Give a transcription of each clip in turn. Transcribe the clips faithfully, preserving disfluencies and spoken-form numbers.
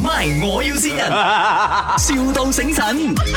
My 我要先人，,笑到醒神。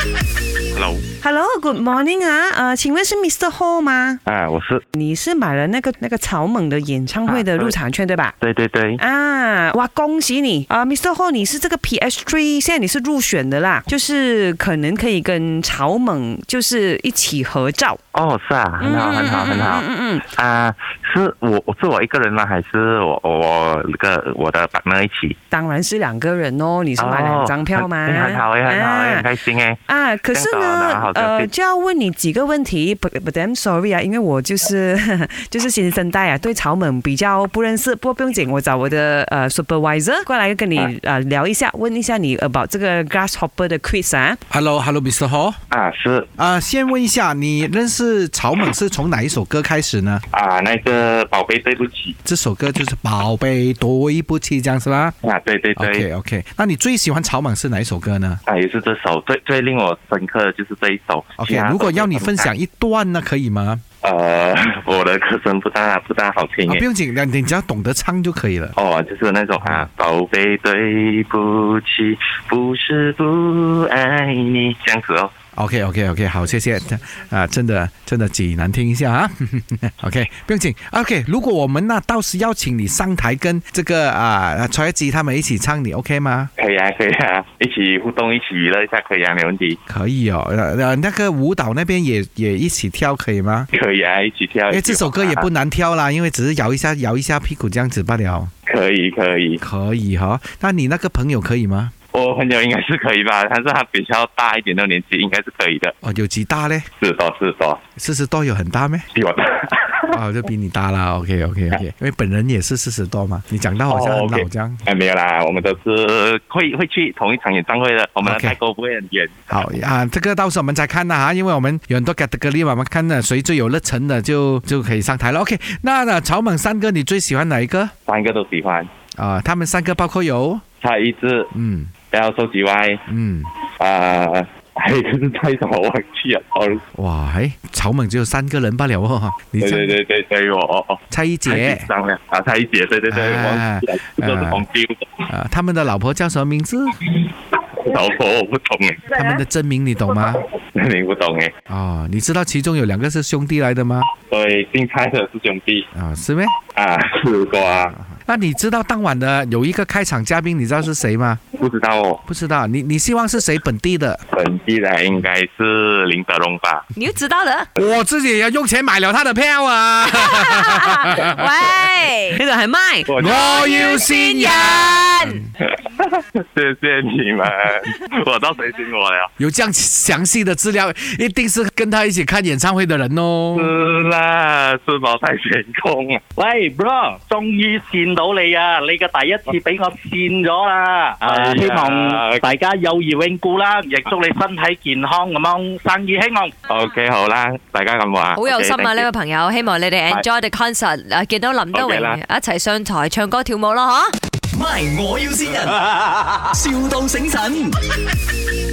Hello，Hello，Good morning 啊，呃，请问是 Mister Ho 吗？ 啊，我是。 你是买了那个那个草蜢的演唱会的入场券、啊、对吧？ 对对对。 啊，哇，恭喜你啊 ，Mister Ho， 你是这个 P S 三， 现在你是入选的啦，就是可能可以跟草蜢就是一起合照。 哦，是啊，很好，很好，很好。嗯嗯啊，是我，我是我一个人吗？还是我我个我的 partner 一起？ 当然是两个人哦，你是买两张票吗？ 哦、很好，很好，啊、很开心哎。 啊，可是呢，呃，就要问你几个问题。But but I'm sorry 啊，因为我就是就是新生代啊，对草蜢比较不认识。不过不用紧，我找我的呃 supervisor 过来跟你呃聊一下，问一下你 about 这个 Grasshopper 的 quiz 啊。 Hello，Hello，Mister Ho。 啊，是。 啊，先问一下，你认识草蜢是从哪一首歌开始呢？ 啊，那个宝贝对不起。 这首歌就是宝贝对不起，这样是吧？ 啊，对对对。 OK OK， 那你最喜欢草蜢是哪一首歌呢？ 啊，也是这首，最最令我深刻的就是这一首。 OK， 如果要你分享一段呢，可以吗？ 呃，我的歌声不大不大好听、啊、 不用紧，你只要懂得唱就可以了。 哦，就是那种啊，宝贝对不起，不是不爱你，这样子哦。 OK OK OK， 好，谢谢啊，真的真的极难听一下啊。OK， 不用紧。OK， 如果我们那到时邀请你上台跟这个啊蔡一智他们一起唱，你 OK 吗？ 可以啊，可以啊，一起互动，一起娱乐一下，可以啊，没问题。 可以哦，呃，那个舞蹈那边也也一起跳，可以吗？ 可以啊，一起跳。 因为这首歌也不难跳啦，因为只是摇一下摇一下屁股这样子罢了。 可以可以可以哈、哦，那你那个朋友可以吗？ 我朋友应该是可以吧，但是他比较大一点的年纪，应该是可以的。 哦，有几大嘞？ 四十多，四十多，四十多有很大咩？ 比我大。 哦，就比你大啦。OK OK OK， 因为本人也是四十多嘛。你讲到好像很老这样。 哦 okay、哎，没有啦，我们都是会会去同一场演唱会的，我们的代沟不会很远。 好啊，这个到时候我们再看啦哈，因为我们有很多 category 嘛，我们看呢谁最有热忱的就就可以上台了。OK， 那呢草蜢三个你最喜欢哪一个？ 三个都喜欢。 啊、呃，他们三个包括有蔡一智， 嗯， 然后周吉歪， 嗯， 啊、呃，还有一个是蔡什么忘记了，哦， 哇，哎，草蜢只有三个人罢了哦，你对对对对对，我哦哦， 蔡一杰， 上了啊，蔡一杰，对对对，忘记了，这都是红丢的。 啊，他们的老婆叫什么名字？ 老婆我不懂哎， 他们的真名你懂吗？ 你不懂哎。 哦，你知道其中有两个是兄弟来的吗？ 对，姓蔡的是兄弟。 啊、哦，是咩？ 啊，是的啊。 那你知道当晚的有一个开场嘉宾，你知道是谁吗？ 不知道哦。 不知道，你你希望是谁本地的？ 本地的应该是林德龙吧？ 你又知道了？ 我自己也要用钱买了他的票啊！ 喂，呢度係咪？ 我要先人。 謝謝你們，我到誰信我了？ 有這樣詳細的資料，一定是跟他一起看演唱會的人哦。 是啦，是否太成功啊？ 喂 ，bro， 終於見到你啊！你嘅第一次俾我見咗啦。啊，希望大家友誼永固啦，亦祝你身體健康咁樣，生意興隆。 OK， 好啦，大家咁話。 好有心啊！呢位朋友，希望你哋 enjoy the concert。誒，見到林德榮一齊上台唱歌跳舞咯，嗬！ My 我要先人，笑到醒神。